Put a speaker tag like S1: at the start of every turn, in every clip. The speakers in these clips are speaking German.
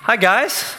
S1: Hi guys.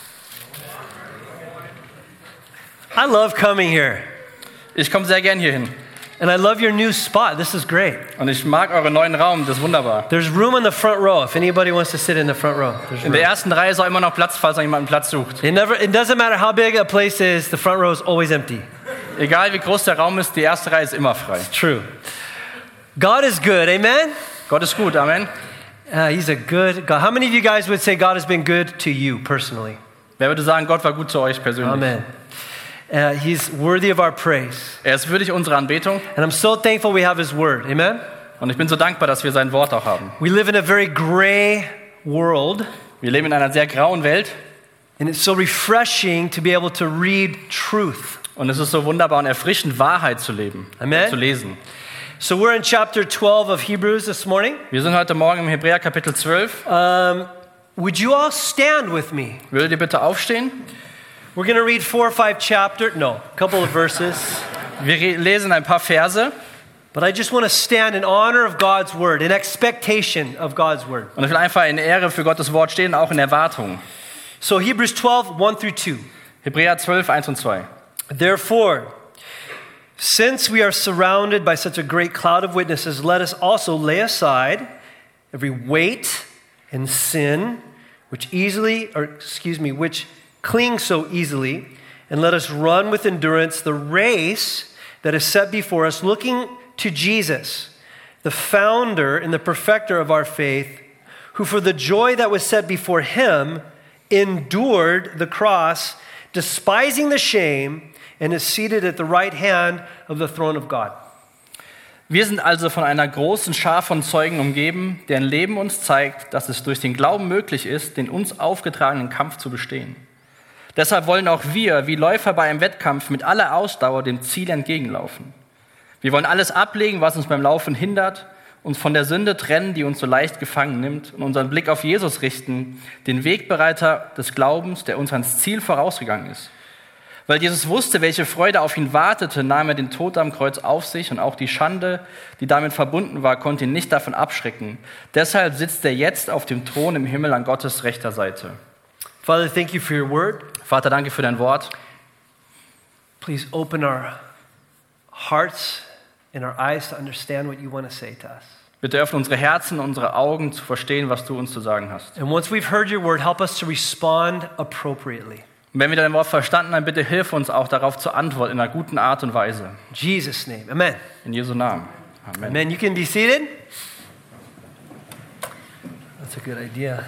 S1: I love coming here.
S2: Ich komme sehr gern hier hin.
S1: And I love your new spot. This is great.
S2: Und ich mag euren neuen Raum, das ist wunderbar.
S1: There's room in the front row if anybody wants to sit in the front row.
S2: In der ersten Reihe ist auch immer noch Platz, falls noch jemand einen Platz sucht.
S1: It doesn't matter how big a place is, the front row is always empty.
S2: Egal wie groß der Raum ist, die erste Reihe ist immer frei.
S1: True. God is good, amen?
S2: Gott ist gut, Amen.
S1: He's a good God. How many of you guys would say God has been good to you personally?
S2: Wer würde sagen, Gott war gut zu euch persönlich?
S1: Amen. He's worthy of our praise.
S2: Er ist würdig unserer Anbetung.
S1: And I'm so thankful we have his word, amen?
S2: Und ich bin so dankbar, dass wir sein Wort auch haben.
S1: We live in a very gray world.
S2: Wir leben in einer sehr grauen Welt.
S1: And it's so refreshing to be able to read truth.
S2: Und es ist so wunderbar und erfrischend, Wahrheit zu leben,
S1: Amen.
S2: zu lesen.
S1: So we're in chapter 12 of Hebrews this morning.
S2: Wir sind heute Morgen im Hebräer Kapitel 12.
S1: Would you all stand with me?
S2: Würdet ihr bitte aufstehen?
S1: We're going to read 4 or 5 chapters. No, a couple of verses.
S2: Wir lesen ein paar Verse.
S1: But I just want to stand in honor of God's word, in expectation of God's word.
S2: Und ich will einfach in Ehre für Gottes Wort stehen, auch in Erwartung.
S1: So Hebrews 12, 1 through 2.
S2: Hebräer 12, 1 und 2.
S1: Therefore, since we are surrounded by such a great cloud of witnesses, let us also lay aside every weight and sin which clings so easily, and let us run with endurance the race that is set before us, looking to Jesus, the founder and the perfecter of our faith, who for the joy that was set before him endured the cross, despising the shame, and is seated at the right hand of the throne of God.
S2: Wir sind also von einer großen Schar von Zeugen umgeben, deren Leben uns zeigt, dass es durch den Glauben möglich ist, den uns aufgetragenen Kampf zu bestehen. Deshalb wollen auch wir, wie Läufer bei einem Wettkampf, mit aller Ausdauer dem Ziel entgegenlaufen. Wir wollen alles ablegen, was uns beim Laufen hindert, uns von der Sünde trennen, die uns so leicht gefangen nimmt, und unseren Blick auf Jesus richten, den Wegbereiter des Glaubens, der uns ans Ziel vorausgegangen ist. Weil Jesus wusste, welche Freude auf ihn wartete, nahm er den Tod am Kreuz auf sich, und auch die Schande, die damit verbunden war, konnte ihn nicht davon abschrecken. Deshalb sitzt er jetzt auf dem Thron im Himmel an Gottes rechter Seite.
S1: Father, thank you for your word.
S2: Vater, danke für dein Wort.
S1: Please open our hearts and our eyes to understand what you want to say to us.
S2: Bitte öffne unsere Herzen, unsere Augen zu verstehen, was du uns zu sagen hast.
S1: And once we've heard your word, help us to respond appropriately.
S2: Und wenn wir dein Wort verstanden haben, bitte hilf uns auch darauf zu antworten in einer guten Art und Weise.
S1: In Jesus' name, amen.
S2: In Jesu Namen. Amen.
S1: Amen. You can be seated. That's a good idea.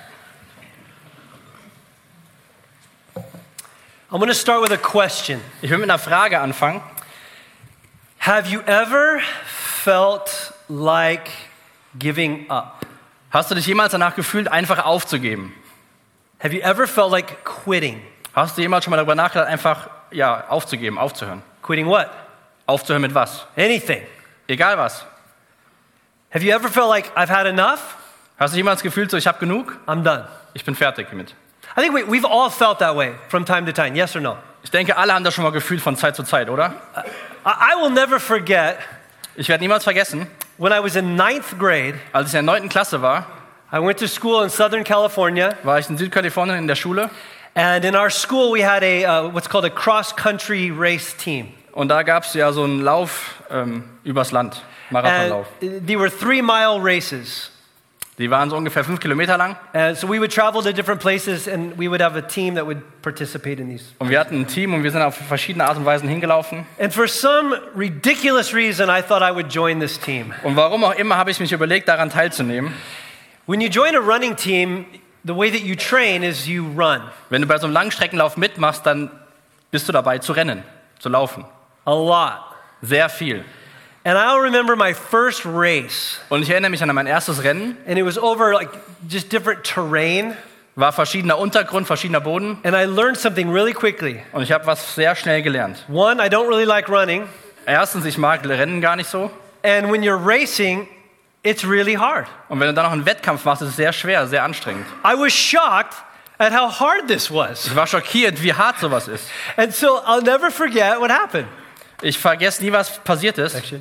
S1: I'm going to start with a question.
S2: Ich will mit einer Frage anfangen.
S1: Have you ever felt like giving up?
S2: Hast du dich jemals danach gefühlt, einfach aufzugeben?
S1: Have you ever felt like quitting?
S2: Hast du jemals schon mal darüber nachgedacht, einfach aufzugeben, aufzuhören?
S1: Quitting what?
S2: Aufzuhören mit was?
S1: Anything.
S2: Egal was.
S1: Have you ever felt like I've had enough?
S2: Hast du jemals gefühlt, so ich habe genug?
S1: I'm done.
S2: Ich bin fertig damit.
S1: I think we've all felt that way from time to time. Yes or no?
S2: Ich denke, alle haben das schon mal gefühlt von Zeit zu Zeit, oder?
S1: I will never forget.
S2: Ich werde niemals vergessen,
S1: when I was in 9th grade,
S2: als ich in der 9. Klasse war,
S1: I went to school in Southern California.
S2: War ich in Südkalifornien in der Schule.
S1: And in our school we had a what's called a cross-country race team.
S2: Und da gab es ja so einen Lauf übers Land, Marathonlauf.
S1: They were 3-mile races.
S2: Die waren so ungefähr 5 Kilometer lang.
S1: So we would travel to different places and we would have a team that would participate in these.
S2: Und wir hatten ein Team und wir sind auf verschiedene Art und Weisen hingelaufen.
S1: And for some ridiculous reason I thought I would join this team.
S2: Und warum auch immer habe ich mich überlegt, daran teilzunehmen.
S1: When you join a running team, the way that you train is you run.
S2: Wenn du bei so einem Langstreckenlauf mitmachst, dann bist du dabei zu rennen, zu laufen.
S1: A lot.
S2: Sehr viel.
S1: And I'll remember my first race.
S2: Und ich erinnere mich an mein erstes Rennen.
S1: And it was over like just different terrain.
S2: War verschiedener Untergrund, verschiedener Boden.
S1: And I learned something really quickly.
S2: Und ich habe was sehr schnell gelernt.
S1: One, I don't really like running.
S2: Erstens, ich mag Rennen gar nicht so.
S1: And when you're racing, it's really hard.
S2: Und wenn du dann noch einen Wettkampf machst, ist es sehr schwer, sehr anstrengend.
S1: I was shocked at how hard this was.
S2: Ich war schockiert, wie hart sowas ist.
S1: And so I'll never forget what happened.
S2: Ich vergesse nie, was passiert ist.
S1: Actually,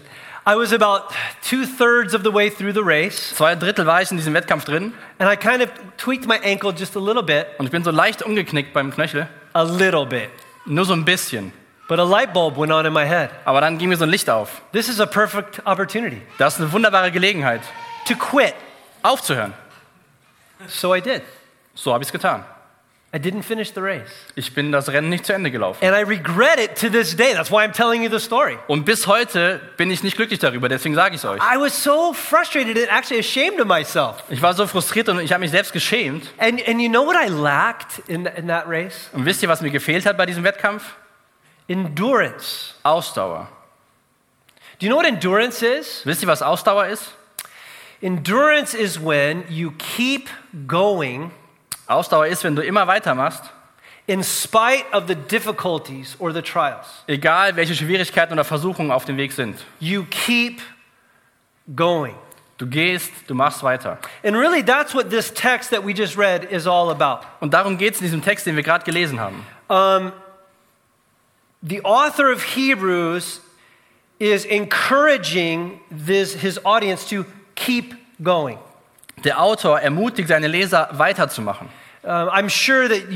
S1: I was about 2/3 of the way through the race,
S2: 2/3 war ich in diesem Wettkampf drin
S1: and I kind of tweaked my ankle just a little bit.
S2: und ich bin so leicht umgeknickt beim Knöchel.
S1: A little bit.
S2: Nur so ein bisschen.
S1: But a light bulb went on in my head.
S2: Aber dann ging mir so ein Licht auf.
S1: This is a perfect opportunity
S2: Das ist eine wunderbare Gelegenheit,
S1: to quit.
S2: aufzuhören.
S1: So I did.
S2: So habe ich es getan.
S1: I didn't finish the race.
S2: Ich bin das Rennen nicht zu Ende gelaufen.
S1: And I regret it to this day. That's why I'm telling you the story.
S2: Und bis heute bin ich nicht glücklich darüber, deswegen sage ich es euch.
S1: I was so frustrated and actually ashamed of myself.
S2: Ich war so frustriert und ich habe mich selbst geschämt.
S1: And you know what I lacked in that race?
S2: Und wisst ihr, was mir gefehlt hat bei diesem Wettkampf?
S1: Endurance.
S2: Ausdauer.
S1: Do you know what endurance is?
S2: Wisst ihr, was Ausdauer ist?
S1: Endurance is when you keep going
S2: Ausdauer ist, wenn du immer weitermachst,
S1: in spite of the difficulties or the trials.
S2: egal welche Schwierigkeiten oder Versuchungen auf dem Weg sind.
S1: You keep going.
S2: Du gehst, du machst weiter.
S1: And really, that's what this text that we just read is all about.
S2: Und darum geht es in diesem Text, den wir gerade gelesen haben.
S1: The author of Hebrews is encouraging his audience to keep going.
S2: Der Autor ermutigt seine Leser weiterzumachen.
S1: I'm sure that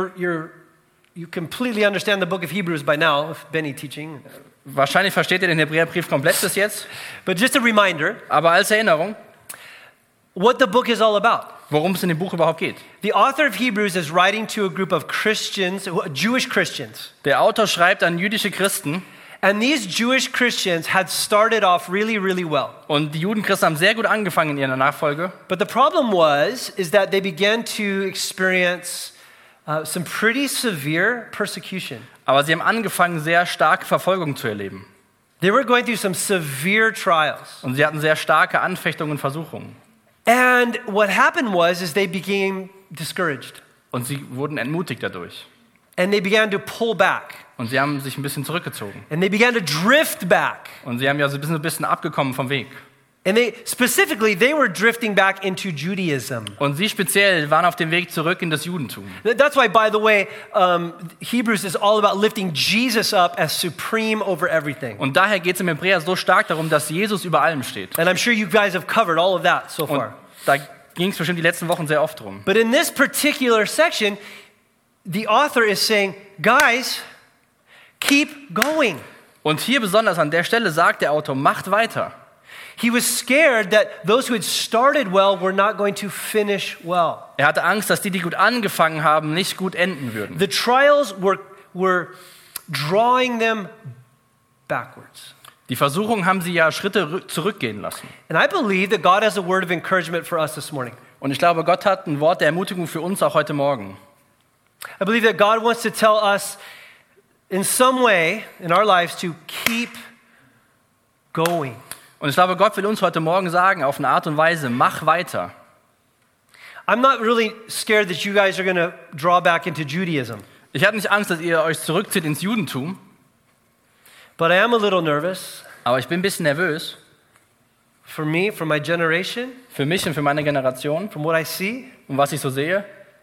S1: you completely understand the book of Hebrews by now, with Benny teaching.
S2: Wahrscheinlich versteht ihr den Hebräerbrief komplett bis jetzt,
S1: But just a reminder,
S2: aber als Erinnerung,
S1: what the book is all about.
S2: worum es in dem Buch überhaupt geht.
S1: The author of Hebrews is writing to a group of Christians, Jewish Christians.
S2: Der Autor schreibt an jüdische Christen
S1: And these Jewish Christians had started off really, really well.
S2: und die Judenchristen haben sehr gut angefangen in ihrer Nachfolge.
S1: But the problem is that they began to experience some pretty severe persecution.
S2: Aber sie haben angefangen, sehr starke Verfolgung zu erleben.
S1: They were going through some severe trials.
S2: Und sie hatten sehr starke Anfechtungen und Versuchungen.
S1: And what happened is they became discouraged.
S2: Und sie wurden entmutigt dadurch.
S1: And they began to pull back.
S2: Und sie haben sich ein bisschen zurückgezogen.
S1: And they began to drift back.
S2: Und sie haben ja so ein bisschen abgekommen vom Weg.
S1: And they were drifting back into Judaism.
S2: Und sie speziell waren auf dem Weg zurück in das Judentum.
S1: That's why, by the way, Hebrews is all about lifting Jesus up as supreme over everything.
S2: Und daher geht es im Hebräer so stark darum, dass Jesus über allem steht.
S1: And I'm sure you guys have covered all of that so
S2: Und
S1: far.
S2: da ging es bestimmt die letzten Wochen sehr oft drum.
S1: But in this particular section, the author is saying, guys, keep going.
S2: Und hier besonders an der Stelle sagt der Autor, macht weiter.
S1: He was scared that those who had started well were not going to finish well.
S2: Er hatte Angst, dass die gut angefangen haben, nicht gut enden würden.
S1: The trials were drawing them backwards.
S2: Die Versuchungen haben sie ja Schritte zurückgehen lassen.
S1: And I believe that God has a word of encouragement for us this morning.
S2: Und ich glaube, Gott hat ein Wort der Ermutigung für uns auch heute Morgen.
S1: I believe that God wants to tell us in some way in our lives to keep going.
S2: Und ich glaube, Gott will uns heute Morgen sagen, auf eine Art und Weise, mach weiter.
S1: I'm not really scared that you guys are going to draw back into Judaism.
S2: Ich habe nicht Angst, dass ihr euch zurückzieht ins Judentum,
S1: But I am a little nervous
S2: aber ich bin ein bisschen nervös
S1: for me, for my generation,
S2: für mich und für meine Generation
S1: from what I see,
S2: und was ich so sehe,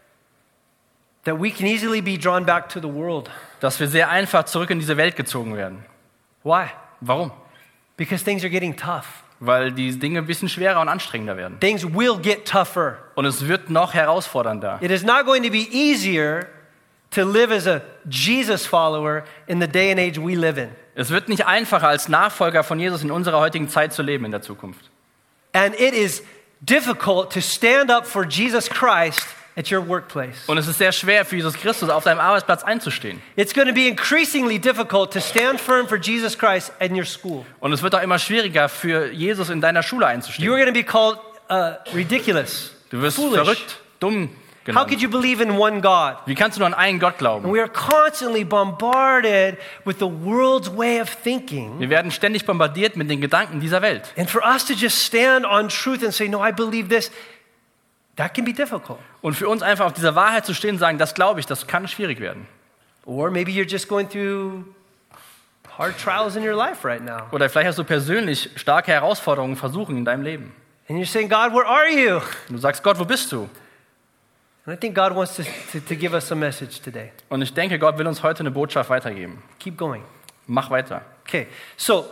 S1: that we can easily be drawn back to the world.
S2: dass wir sehr einfach zurück in diese Welt gezogen werden.
S1: Why?
S2: Warum?
S1: Because things are getting tough.
S2: Weil die Dinge ein bisschen schwerer und anstrengender werden.
S1: Things will get tougher.
S2: Und es wird noch herausfordernder.
S1: It is not going to be easier to live as a Jesus follower in the day and age we live in.
S2: Es wird nicht einfacher, als Nachfolger von Jesus in unserer heutigen Zeit zu leben in der Zukunft.
S1: And it is difficult to stand up for Jesus Christ at your workplace.
S2: Und es ist sehr schwer für Jesus Christus auf deinem Arbeitsplatz einzustehen.
S1: It's going to be increasingly difficult to stand firm for Jesus Christ in your school.
S2: Und es wird auch immer schwieriger für Jesus in deiner Schule
S1: You are
S2: einzustehen.
S1: going to be called ridiculous,
S2: Du wirst
S1: foolish.
S2: verrückt, dumm
S1: How
S2: genannt.
S1: could you believe in one God?
S2: Wie kannst du nur an einen Gott
S1: And
S2: glauben?
S1: we are constantly bombarded with the world's way of thinking.
S2: Wir werden ständig bombardiert mit den Gedanken dieser Welt.
S1: And for us to just stand on truth and say, no, I believe this, that can be difficult.
S2: Und für uns einfach auf dieser Wahrheit zu stehen und sagen, das glaube ich, das kann schwierig werden.
S1: Or maybe you're just going through hard trials in your life right now.
S2: Oder vielleicht hast du persönlich starke Herausforderungen, Versuchungen in deinem Leben.
S1: And you're saying, God, where are you?
S2: Und du sagst, Gott, wo bist du?
S1: And I think God wants to give us a message today.
S2: Und ich denke, Gott will uns heute eine Botschaft weitergeben.
S1: Keep going.
S2: Mach weiter.
S1: Okay, so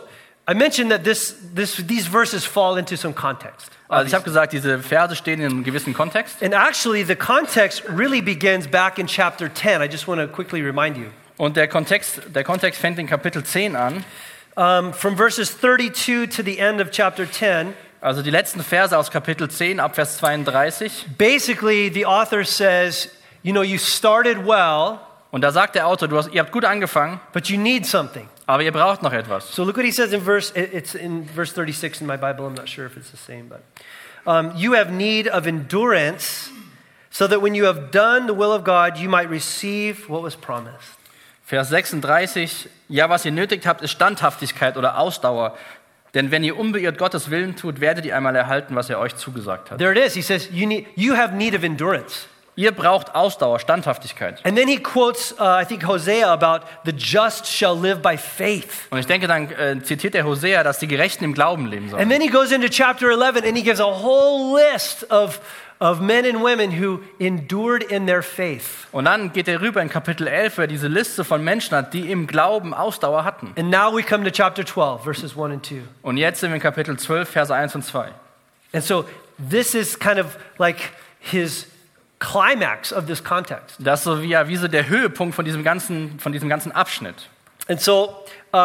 S1: I mentioned that these verses fall into some context.
S2: Also ich habe gesagt, diese Verse stehen in einem gewissen Kontext.
S1: And actually, the context really begins back in chapter 10. I just want to quickly remind you.
S2: Und der Kontext fängt in Kapitel 10 an.
S1: From verses 32 to the end of chapter 10.
S2: Also die letzten Verse aus Kapitel 10 ab Vers 32.
S1: Basically, the author says, you started well,
S2: Und da sagt der Autor, ihr habt gut angefangen,
S1: but you need something.
S2: aber ihr braucht noch etwas.
S1: So look what he says it's in verse 36 in my Bible. I'm not sure if it's the same, but you have need of endurance, so that when you have done the will of God, you might receive what was promised.
S2: Vers 36, ja, was ihr nötig habt, ist Standhaftigkeit oder Ausdauer. Denn wenn ihr unbeirrt Gottes Willen tut, werdet ihr einmal erhalten, was er euch zugesagt hat.
S1: There it is. He says, you have need of endurance.
S2: Ihr braucht Ausdauer, Standhaftigkeit.
S1: And then he quotes, I think, Hosea about the just shall live by faith.
S2: Und ich denke, dann zitiert der Hosea, dass die Gerechten im Glauben leben sollen.
S1: And then he goes into chapter 11 and he gives a whole list of men and women who endured in their faith.
S2: Und dann geht er rüber in Kapitel 11, wo er diese Liste von Menschen hat, die im Glauben Ausdauer hatten.
S1: And now we come to chapter 12, verses 1 and 2.
S2: Und jetzt sind wir in Kapitel 12, Verse 1 und 2.
S1: And so this is kind of like his climax of this context.
S2: Das ist so wie so der Höhepunkt von diesem ganzen Abschnitt.
S1: And so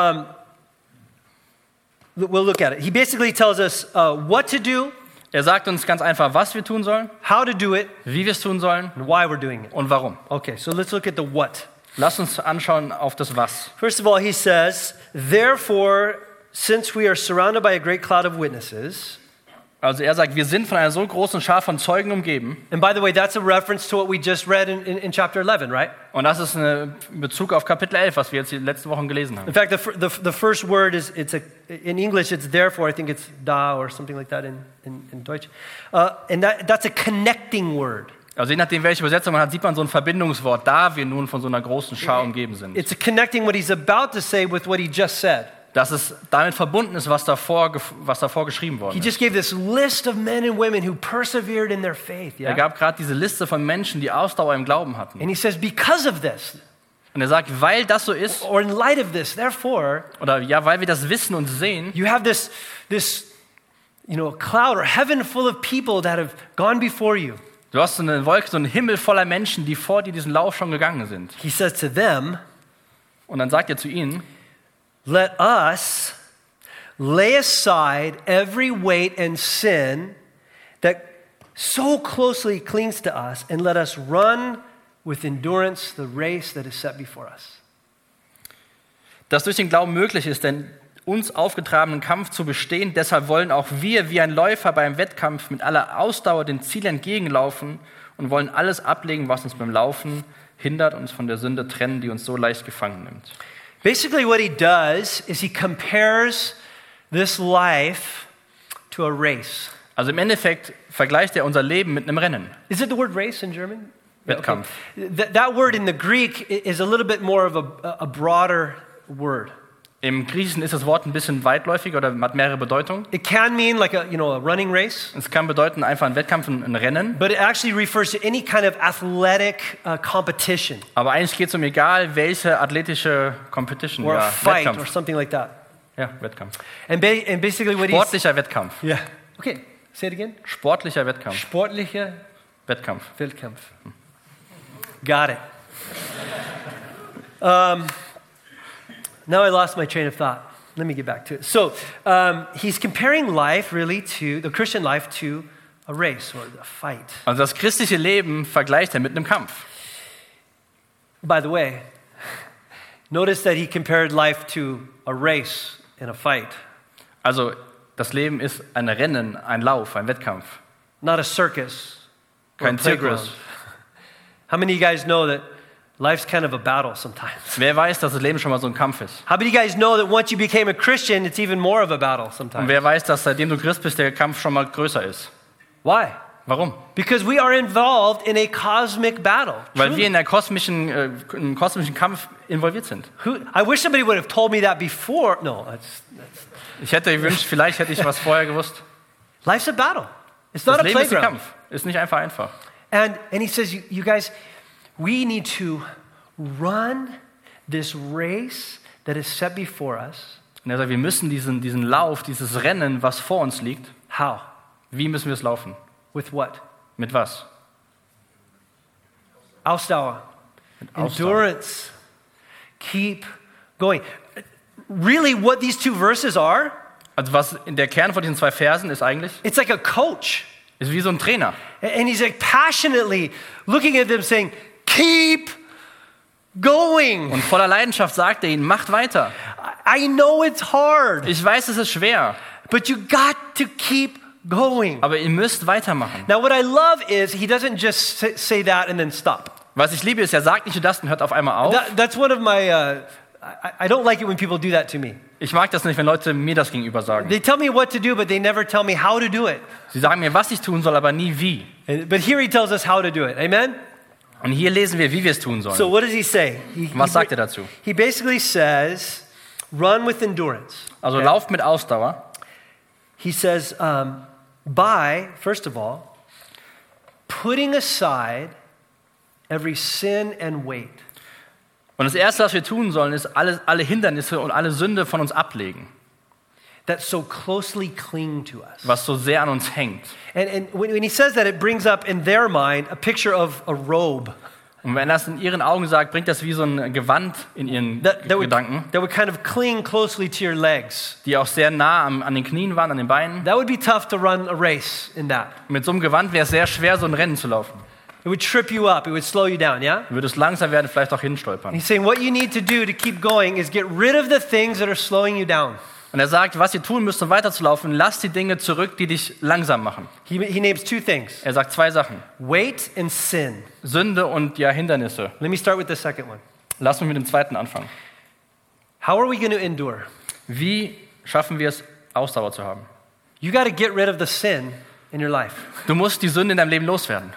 S1: we'll look at it. He basically tells us what to do,
S2: Er sagt uns ganz einfach, was wir tun sollen,
S1: how to do it,
S2: wie wir es tun sollen
S1: and why we're doing it.
S2: und warum.
S1: Okay, so let's look at the what.
S2: Lasst uns anschauen auf das Was.
S1: First of all, he says, therefore, since we are surrounded by a great cloud of witnesses.
S2: Also er sagt, wir sind von einer so großen Schar von Zeugen umgeben.
S1: And by the way, that's a reference to what we just read in chapter 11, right?
S2: Und das ist ein Bezug auf Kapitel 11, was wir jetzt die letzten Wochen gelesen haben.
S1: In fact, the first word in English, it's therefore, I think it's da or something like that in Deutsch. And that's a connecting word.
S2: Also je nachdem, welche Übersetzung man hat, sieht man so ein Verbindungswort, da wir nun von so einer großen Schar umgeben sind.
S1: It's connecting what he's about to say with what he just said.
S2: Dass es damit verbunden ist, was davor geschrieben worden
S1: He
S2: ist.
S1: just gave this list of men and women who persevered in their faith.
S2: Er
S1: Yeah?
S2: gab gerade diese Liste von Menschen, die Ausdauer im Glauben hatten.
S1: And he says, because of this,
S2: Und er sagt, weil das so ist,
S1: or in light of this, therefore,
S2: oder ja, weil wir das wissen und sehen,
S1: you have this cloud or heaven full of people that have gone before you.
S2: du hast so eine Wolke, so einen Himmel voller Menschen, die vor dir diesen Lauf schon gegangen sind.
S1: He says to them,
S2: Und dann sagt er zu ihnen,
S1: let us lay aside every weight and sin that so closely clings to us, and let us run with endurance the race that is set before us.
S2: dass durch den Glauben möglich ist, den uns aufgetragenen Kampf zu bestehen. Deshalb wollen auch wir wie ein Läufer beim Wettkampf mit aller Ausdauer dem Ziel entgegenlaufen und wollen alles ablegen, was uns beim Laufen hindert, uns von der Sünde trennen, die uns so leicht gefangen nimmt.
S1: Basically, what he does is he compares this life to a race.
S2: Also im Endeffekt vergleicht er unser Leben mit einem Rennen.
S1: Is it the word race in German?
S2: Wettkampf.
S1: Okay. That word in the Greek is a little bit more of a broader word.
S2: Im Griechischen ist das Wort ein bisschen weitläufiger oder hat mehrere Bedeutungen.
S1: It can mean like a running race,
S2: Es kann bedeuten einfach ein Wettkampf, ein Rennen.
S1: but it actually refers to any kind of athletic competition
S2: Aber eigentlich geht es um egal welche athletische Competition,
S1: or a
S2: ja,
S1: fight or
S2: Wettkampf.
S1: something like that.
S2: Ja, Wettkampf.
S1: And basically what he's...
S2: Sportlicher Wettkampf.
S1: Yeah. Okay, say it again.
S2: Sportlicher Wettkampf.
S1: Sportlicher
S2: Wettkampf.
S1: Wettkampf. Got it. Now I lost my train of thought. Let me get back to it. So he's comparing life really to, the Christian life to a race or a fight.
S2: Also das christliche Leben vergleicht er mit einem Kampf.
S1: By the way, notice that he compared life to a race and a fight,
S2: Also das Leben ist ein Rennen, ein Lauf, ein Wettkampf.
S1: not a circus or a
S2: Kein
S1: playground.
S2: Zirkus.
S1: How many of you guys know that life's kind of a battle sometimes?
S2: Wer weiß, dass das Leben schon mal so ein Kampf ist?
S1: How many of you guys know that once you became a Christian, it's even more of a battle
S2: Und
S1: sometimes?
S2: wer weiß, dass seitdem du Christ bist, der Kampf schon mal größer ist?
S1: Why?
S2: Warum?
S1: Because we are involved in a cosmic battle.
S2: Weil wir
S1: Truly.
S2: in einem kosmischen Kampf involviert sind.
S1: I wish somebody would have told me that before. No,
S2: Ich hätte gewünscht, vielleicht hätte ich was vorher gewusst.
S1: life's a battle. It's not
S2: Das
S1: a
S2: Leben ist ein
S1: playground.
S2: Kampf. Ist nicht einfach.
S1: And he says, you guys, we need to run this race that is set before us.
S2: Und er sagt, wir müssen diesen Lauf, dieses Rennen, was vor uns liegt,
S1: How?
S2: wie müssen wir es laufen?
S1: With what?
S2: Mit was?
S1: Ausdauer.
S2: Mit Ausdauer.
S1: Endurance. Keep going. Really, what these two verses are,
S2: Also was in der Kern von diesen 2 Versen ist eigentlich,
S1: it's like a coach.
S2: ist wie so ein Trainer.
S1: And he's like passionately looking at them saying, keep going.
S2: Und voller Leidenschaft sagt er ihnen, macht weiter.
S1: I know it's hard,
S2: Ich weiß, es ist schwer,
S1: but you got to keep going.
S2: aber ihr müsst weitermachen.
S1: Now, what I love is he doesn't just say that and then stop.
S2: Was ich liebe, ist, er sagt nicht nur das und hört auf einmal auf.
S1: That's one of my, I don't like it when people do that to me.
S2: Ich mag das nicht, wenn Leute mir das gegenüber sagen.
S1: They tell me what to do, but they never tell me how to do it.
S2: Sie sagen mir, was ich tun soll, aber nie wie.
S1: But here he tells us how to do it. Amen?
S2: Und hier lesen wir, wie wir es tun
S1: So
S2: sollen.
S1: what does he say?
S2: Was sagt er dazu?
S1: He basically says, run with endurance.
S2: Also
S1: Okay?
S2: lauft mit Ausdauer.
S1: He says, by, first of all, putting aside every sin and weight.
S2: Und das Erste, was wir tun sollen, ist alle Hindernisse und alle Sünde von uns ablegen,
S1: that so closely cling to us.
S2: was so sehr an uns hängt.
S1: And when he says that, it brings up in their mind a picture of a robe
S2: Und wenn er das in ihren Augen sagt, bringt das wie so ein Gewand in ihren
S1: that
S2: Gedanken,
S1: would kind of cling closely to your legs.
S2: die auch sehr nah an den Knien waren, an den Beinen.
S1: That would be tough to run a race in that.
S2: Mit so einem Gewand wäre es sehr schwer, so ein Rennen zu laufen.
S1: It would trip you up. It would slow you down, yeah?
S2: Du würdest langsam werden, vielleicht auch hinstolpern.
S1: He's saying what you need to do to keep going is get rid of the things that are slowing you down.
S2: Und er sagt, was ihr tun müsst, um weiterzulaufen, lasst die Dinge zurück, die dich langsam machen.
S1: He names 2 things,
S2: Er sagt 2 Sachen.
S1: weight and sin.
S2: Sünde und ja, Hindernisse.
S1: Let me start with the second one.
S2: Lass mich mit dem zweiten anfangen.
S1: How are we going to endure?
S2: Wie schaffen wir es, Ausdauer zu haben?
S1: You got to get rid of the sin in your life.
S2: Du musst die Sünde in deinem Leben loswerden.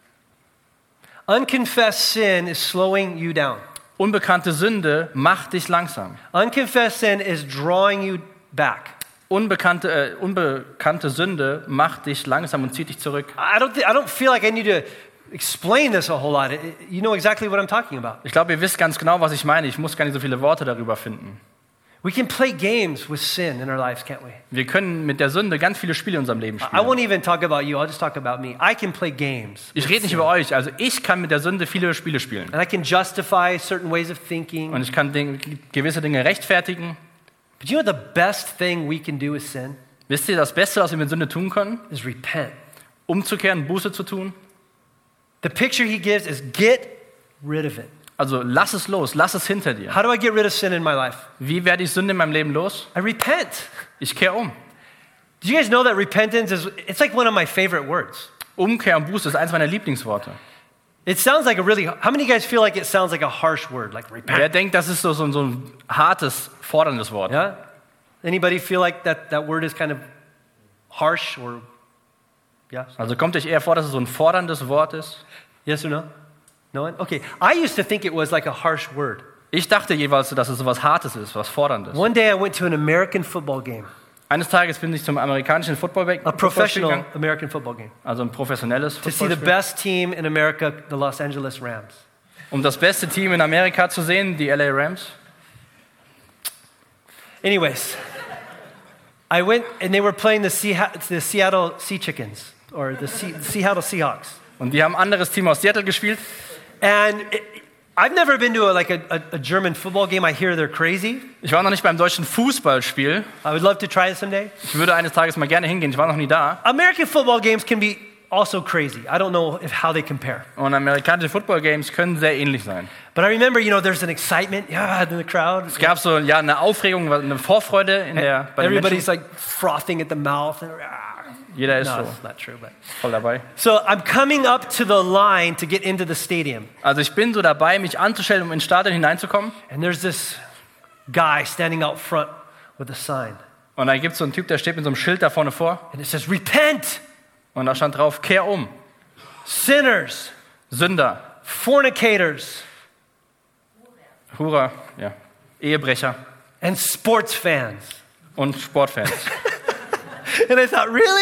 S1: Unconfessed sin is slowing you down.
S2: Unbekannte Sünde macht dich langsam.
S1: Unconfessed sin is drawing you back.
S2: Unbekannte Sünde macht dich langsam und zieht dich zurück.
S1: I don't feel like I need to explain this a whole lot. You know exactly what I'm talking about.
S2: Ich glaube, ihr wisst ganz genau, was ich meine. Ich muss gar nicht so viele Worte darüber finden.
S1: We can play games with sin in our lives, can't we?
S2: Wir können mit der Sünde ganz viele Spiele in unserem Leben
S1: I
S2: spielen.
S1: won't even talk about you. I'll just talk about me. I can play games.
S2: Ich rede nicht über euch. Also ich kann mit der Sünde viele Spiele spielen.
S1: And I can justify certain ways of thinking.
S2: Und ich kann gewisse Dinge rechtfertigen.
S1: But you know the best thing we can do with sin
S2: Wisst ihr, das Beste, was wir mit Sünde tun können?
S1: is repent.
S2: Umzukehren, Buße zu tun.
S1: The picture he gives is get rid of it.
S2: Also lass es los, lass es hinter dir.
S1: How do I get rid of sin in my life?
S2: Wie werde ich Sünde in meinem Leben los?
S1: I repent.
S2: Ich kehre um.
S1: Do you guys know that repentance it's like one of my favorite words?
S2: Umkehr und Buße ist eins meiner Lieblingsworte.
S1: It sounds like how many of you guys feel like it sounds like a harsh word, like repent?
S2: Wer denkt, das ist so ein hartes, forderndes Wort?
S1: Yeah? Anybody feel like that word is kind of harsh or, yeah?
S2: Also kommt euch eher vor, dass es so ein forderndes Wort ist?
S1: Yes or no? No one? Okay. I used to think it was like a harsh word.
S2: Ich dachte jeweils, dass es so was Hartes ist, was Forderndes.
S1: One day I went to an American football game,
S2: Eines Tages bin ich zum amerikanischen
S1: a
S2: Footballspiel
S1: professional
S2: gegangen,
S1: American football game,
S2: also ein professionelles
S1: to see the
S2: Footballspiel,
S1: best team in America, the Los Angeles Rams.
S2: um das beste Team in Amerika zu sehen, die LA Rams.
S1: Anyways, I went and they were playing the Seattle Sea Chickens or the Seattle Seahawks.
S2: Und die haben ein anderes Team aus Seattle gespielt.
S1: And I've never been to a German football game. I hear they're crazy.
S2: Ich war noch nicht beim deutschen Fußballspiel.
S1: I would love to try it someday.
S2: Ich würde eines Tages mal gerne hingehen. Ich war noch nie da.
S1: American football games can be also crazy. I don't know how they compare.
S2: Und amerikanische Football-Games können sehr ähnlich sein.
S1: But I remember, there's an excitement, in the crowd.
S2: Es gab so eine Aufregung, eine Vorfreude bei den
S1: Everybody's
S2: Menschen.
S1: like frothing at the mouth.
S2: Jeder ist
S1: No,
S2: so
S1: that's not true. But.
S2: voll dabei.
S1: So I'm coming up to the line to get into the stadium.
S2: Also ich bin so dabei, mich anzustellen, um ins Stadion hineinzukommen.
S1: And there's this guy standing out front with a sign.
S2: Und da gibt es so einen Typ, der steht mit so einem Schild da vorne vor.
S1: And it says, repent,
S2: Und da stand drauf, kehr um.
S1: sinners,
S2: Sünder,
S1: fornicators,
S2: Hurer, ja, Ehebrecher
S1: and sports fans.
S2: und Sportfans.
S1: And I thought, really?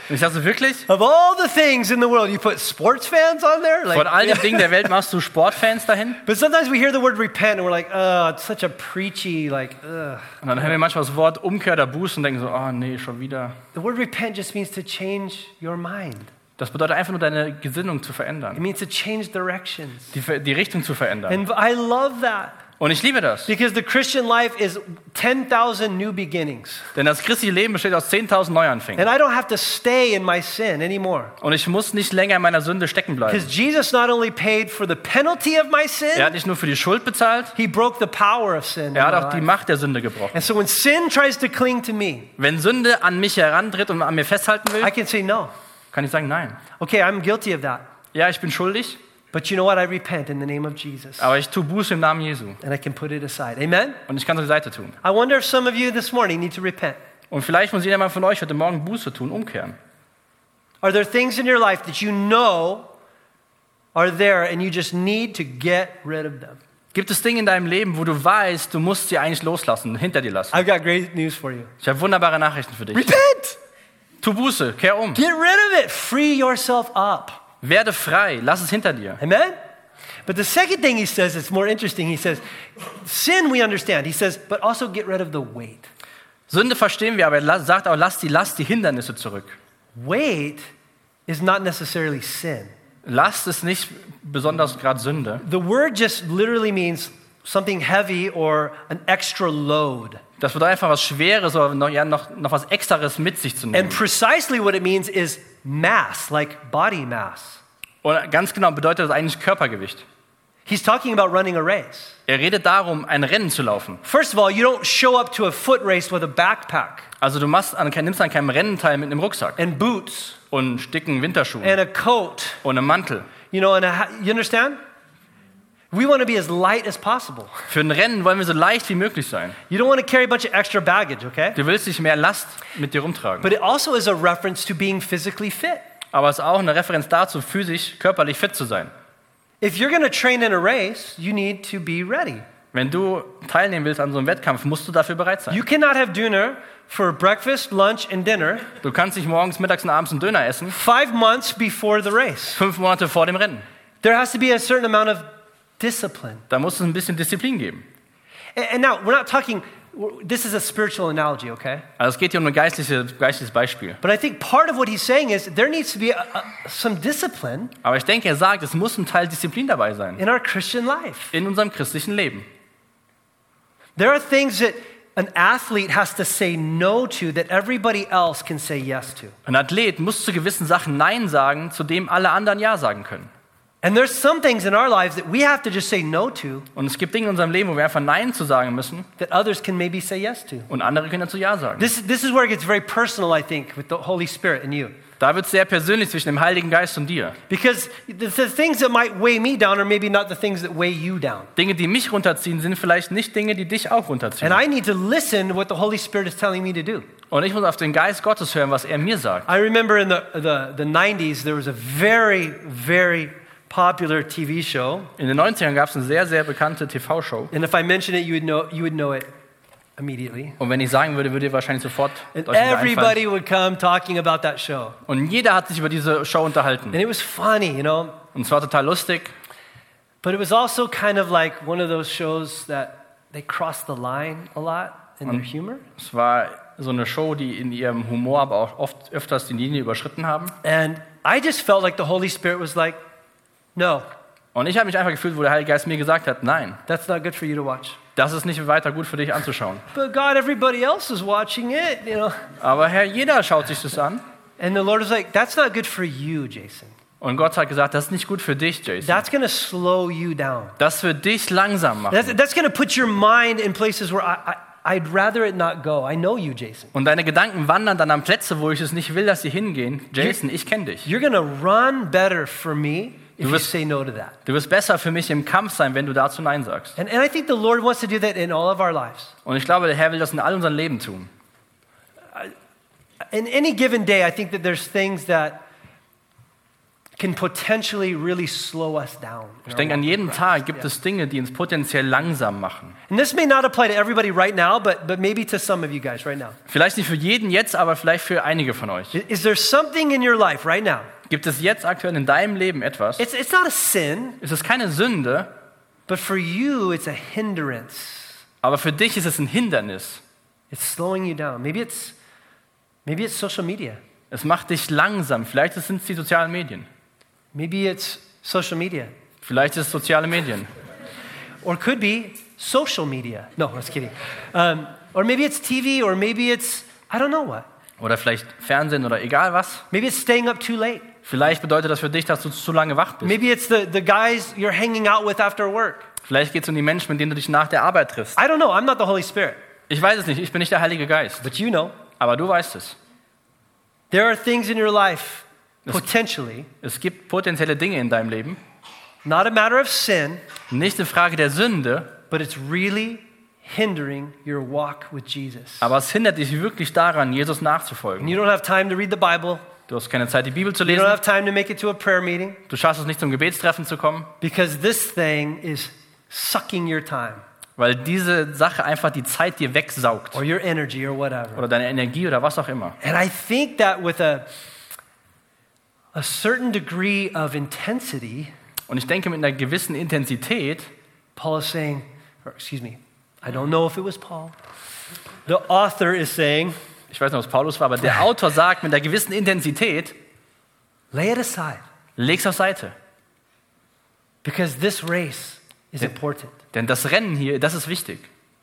S2: Und ich dachte so, wirklich?
S1: Of all the things in the world, you put sports fans on there?
S2: Von all den Dingen der Welt machst du Sportfans dahin?
S1: But sometimes we hear the word repent and we're like, oh, it's such a preachy, like, ugh.
S2: Und dann hören wir manchmal das Wort Umkehr oder Buße und denken so, oh nee, schon wieder.
S1: The word repent just means to change your mind.
S2: Das bedeutet einfach nur, deine Gesinnung zu
S1: It
S2: verändern,
S1: means to change directions.
S2: die Richtung zu verändern.
S1: And I love that
S2: Und ich liebe das,
S1: because the Christian life is 10,000 new beginnings.
S2: denn das christliche Leben besteht aus 10.000 Neuanfängen.
S1: And I don't have to stay in my sin anymore.
S2: Und ich muss nicht länger in meiner Sünde stecken bleiben.
S1: Because Jesus not only paid for the penalty of my sin,
S2: Er hat nicht nur für die Schuld bezahlt,
S1: he broke the power of sin. in
S2: er
S1: my
S2: hat auch die
S1: life.
S2: Macht der Sünde gebrochen.
S1: And so when sin tries to cling to me,
S2: Wenn Sünde an mich herantritt und an mir festhalten
S1: I
S2: will,
S1: can say no.
S2: kann ich sagen, nein.
S1: Okay, I'm guilty of that.
S2: Ja, ich bin schuldig,
S1: But you know what? I repent in the name of Jesus.
S2: aber ich tue Buße im Namen Jesu.
S1: And I can put it aside. Amen?
S2: Und ich kann es auf die Seite tun.
S1: I wonder if some of you this morning need to repent.
S2: Und vielleicht muss jeder mal von euch heute Morgen Buße tun, umkehren.
S1: Are there things in your life that you know are there and you just need to get rid of them?
S2: Gibt es Dinge in deinem Leben, wo du weißt, du musst sie eigentlich loslassen, hinter dir lassen?
S1: I've got great news for you.
S2: Ich habe wunderbare Nachrichten für dich.
S1: Repent!
S2: Tu Buße, kehr um.
S1: Get rid of it. Free yourself up.
S2: Werde frei, lass es hinter dir.
S1: Amen? But the second thing he says, it's more interesting. He says, sin we understand. He says, but also get rid of the weight.
S2: Sünde verstehen wir, aber er sagt auch, lass die Hindernisse zurück.
S1: Weight is not necessarily sin.
S2: Lasst es nicht besonders gerade Sünde.
S1: The word just literally means something heavy or an extra load.
S2: Das bedeutet einfach was Schweres oder noch was Extraes mit sich zu nehmen.
S1: And precisely what it means is mass, like body mass.
S2: Und ganz genau bedeutet das eigentlich Körpergewicht.
S1: He's talking about running a race.
S2: Er redet darum, ein Rennen zu laufen.
S1: First of all, you don't show up to a foot race with a backpack
S2: Also du nimmst an keinem Rennen teil mit einem Rucksack
S1: and boots
S2: und dicken Winterschuhen
S1: and a coat,
S2: und einem Mantel.
S1: you know, and you understand? We want to be as light as possible.
S2: Für ein Rennen wollen wir so leicht wie möglich sein.
S1: You don't want to carry a bunch of extra baggage, okay?
S2: Du willst nicht mehr Last mit dir rumtragen.
S1: But it also is a reference to being physically fit.
S2: Aber es ist auch eine Referenz dazu, physisch, körperlich fit zu sein.
S1: If you're going to train in a race, you need to be ready.
S2: Wenn du teilnehmen willst an so einem Wettkampf, musst du dafür bereit sein.
S1: You cannot have dinner for breakfast, lunch, and dinner
S2: Du kannst nicht morgens, mittags und abends einen Döner essen,
S1: 5 months before the race.
S2: 5 Monate vor dem Rennen.
S1: There has to be a certain amount of discipline.
S2: Da muss es ein bisschen Disziplin geben.
S1: And now, we're not talking, this is a spiritual analogy, okay?
S2: Also es geht hier um ein geistliches Beispiel.
S1: But I think part of what he's saying is there needs to be some discipline
S2: Aber ich denke, er sagt, es muss ein Teil Disziplin dabei sein.
S1: in our Christian life.
S2: In unserem christlichen Leben.
S1: There are things that an athlete has to say no to that everybody else can say yes to.
S2: Ein Athlet muss zu gewissen Sachen Nein sagen, zu dem alle anderen Ja sagen können.
S1: And there's some things in our lives that we have to just say no to
S2: Und es gibt Dinge in unserem Leben, wo wir einfach Nein zu sagen müssen
S1: that others can maybe say yes to.
S2: und andere können dazu Ja sagen.
S1: This is where it gets very personal, I think, with the Holy Spirit and you.
S2: Da wird es sehr persönlich zwischen dem Heiligen Geist und dir.
S1: Because the things that might weigh me down are maybe not the things that weigh you down.
S2: Dinge, die mich runterziehen, sind vielleicht nicht Dinge, die dich auch runterziehen.
S1: And I need to listen to what the Holy Spirit is telling me to do.
S2: Und ich muss auf den Geist Gottes hören, was er mir sagt.
S1: I remember in the 90s, there was a very, very popular TV show.
S2: In den 90ern gab es eine sehr, sehr bekannte TV-Show.
S1: And if I mention it, you would know it immediately.
S2: Und wenn ich sagen würde, würde ihr wahrscheinlich sofort
S1: And
S2: euch wieder einfallen.
S1: everybody would come talking about that show.
S2: Und jeder hat sich über diese Show unterhalten.
S1: And it was funny, you know.
S2: Und es war total lustig.
S1: But it was also kind of like one of those shows that they crossed the line a lot in their humor.
S2: Es war so eine Show, die in ihrem Humor aber auch öfters die Linie überschritten haben.
S1: And I just felt like the Holy Spirit was like, no,
S2: Und ich habe mich einfach gefühlt, wo der Heilige Geist mir gesagt hat, nein,
S1: that's not good for you to watch.
S2: das ist nicht weiter gut für dich anzuschauen.
S1: But God, everybody else is watching it, you know.
S2: Aber Herr, jeder schaut sich das an.
S1: And the Lord was like, that's not good for you, Jason.
S2: Und Gott hat gesagt, das ist nicht gut für dich, Jason.
S1: That's going to slow you down.
S2: Das wird dich langsam machen.
S1: That's going to put your mind in places where I'd rather it not go. I know you, Jason.
S2: Und deine Gedanken wandern dann an Plätze, wo ich es nicht will, dass sie hingehen. Jason, ich kenne dich.
S1: You're going to run better for me if you
S2: wirst-
S1: say no to that.
S2: Du wirst besser für mich im Kampf sein, wenn du dazu Nein sagst.
S1: And I think the Lord wants to do that in all of our lives.
S2: Und ich glaube, der Herr will das in all unserem Leben tun.
S1: In any given day, I think that there's things that can potentially really slow us down.
S2: Ich denke, an jedem Tag gibt es Dinge, die uns potenziell langsam machen.
S1: And this may not apply to everybody right now, but maybe to some of you guys right now.
S2: Vielleicht nicht für jeden jetzt, aber vielleicht für einige von euch.
S1: Is there something in your life right now?
S2: Gibt es jetzt aktuell in deinem Leben etwas?
S1: It's not a sin,
S2: Es ist keine Sünde,
S1: but for you it's a hindrance.
S2: aber für dich ist es ein Hindernis.
S1: It's slowing you down. Maybe it's social media.
S2: Es macht dich langsam. Vielleicht sind es die sozialen Medien.
S1: Maybe it's social media.
S2: Vielleicht ist es soziale Medien.
S1: Or could be social media. No, I was kidding. Or maybe it's TV, or maybe it's, I don't know what.
S2: Oder vielleicht Fernsehen oder egal was.
S1: Maybe it's staying up too late.
S2: Vielleicht bedeutet das für dich, dass du zu lange wach bist.
S1: Maybe it's the guys you're hanging out with after work.
S2: Vielleicht geht es um die Menschen, mit denen du dich nach der Arbeit triffst.
S1: I don't know. I'm not the Holy Spirit.
S2: Ich weiß es nicht, ich bin nicht der Heilige Geist.
S1: But you know.
S2: Aber du weißt es.
S1: There are things in your life, potentially,
S2: Es gibt potenzielle Dinge in deinem Leben.
S1: not a matter of sin,
S2: Nicht eine Frage der Sünde,
S1: but it's really hindering your walk with Jesus.
S2: aber es hindert dich wirklich daran, Jesus
S1: And
S2: nachzufolgen.
S1: you don't have time to read the Bible.
S2: Du hast keine Zeit, die Bibel zu
S1: You don't
S2: lesen.
S1: have time to make it to a prayer meeting
S2: Du schaffst es nicht, zum Gebetstreffen zu kommen,
S1: because this thing is sucking your time
S2: weil diese Sache einfach die Zeit dir wegsaugt.
S1: or your energy or whatever.
S2: Oder deine Energie oder was auch immer.
S1: And I think that with a certain degree of intensity,
S2: Und ich denke, mit einer gewissen Intensität,
S1: Paul is saying, or excuse me, I don't know if it was Paul. The author is saying,
S2: ich weiß nicht, ob es Paulus war, aber der Autor sagt, mit einer gewissen Intensität,
S1: lay it aside
S2: leg's auf Seite.
S1: because this race is important.
S2: Denn das Rennen hier, das ist wichtig.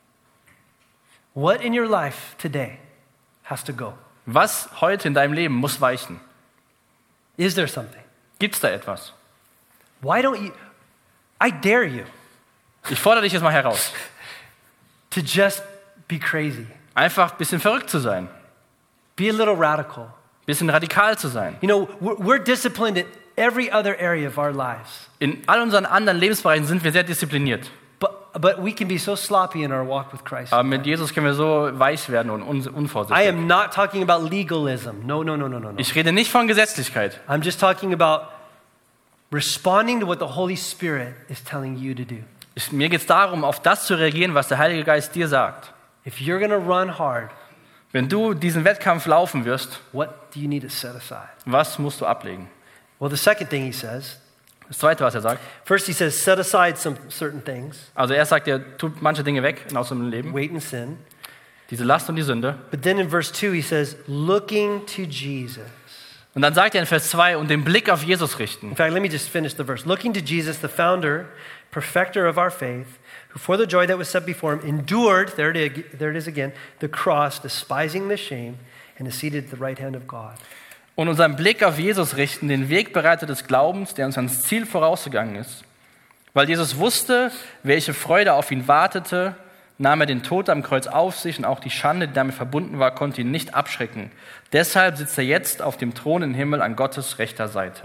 S1: What in your life today has to go?
S2: Was heute in deinem Leben muss weichen?
S1: Is there something?
S2: Gibt es da etwas?
S1: Why don't you? I dare you
S2: Ich fordere dich jetzt mal heraus,
S1: to just be crazy,
S2: einfach ein bisschen verrückt zu sein,
S1: be a little radical.
S2: ein bisschen radikal zu sein.
S1: You know, we're disciplined in every other area of our lives,
S2: In all unseren anderen Lebensbereichen sind wir sehr diszipliniert.
S1: but we can be so sloppy in our walk with Christ.
S2: Aber mit Jesus können wir so weich werden und
S1: I
S2: unvorsichtig.
S1: am not talking about legalism. No.
S2: Ich rede nicht von Gesetzlichkeit.
S1: I'm just talking about responding to what the Holy Spirit is telling you to do.
S2: Mir geht es darum, auf das zu reagieren, was der Heilige Geist dir sagt.
S1: If you're going to run hard,
S2: Wenn du diesen Wettkampf laufen wirst,
S1: what do you need to set aside?
S2: was musst du ablegen?
S1: Well, the second thing he says,
S2: Das Zweite, was er sagt,
S1: first he says, set aside some certain things,
S2: also er sagt, er tut manche Dinge weg aus dem Leben,
S1: weight and sin.
S2: diese Last und die Sünde.
S1: But then in verse 2 he says, looking to Jesus.
S2: Und dann sagt er in Vers 2, und den Blick auf Jesus richten.
S1: In fact, let me just finish the verse. Looking to Jesus, the founder, perfecter of our faith, who for the joy that was set before him endured, there it is again, the cross, despising the shame, and is seated at the right hand of God.
S2: Und unseren Blick auf Jesus richten, den Wegbereiter des Glaubens, der uns ans Ziel vorausgegangen ist. Weil Jesus wusste, welche Freude auf ihn wartete, nahm er den Tod am Kreuz auf sich und auch die Schande, die damit verbunden war, konnte ihn nicht abschrecken. Deshalb sitzt er jetzt auf dem Thron im Himmel an Gottes rechter Seite.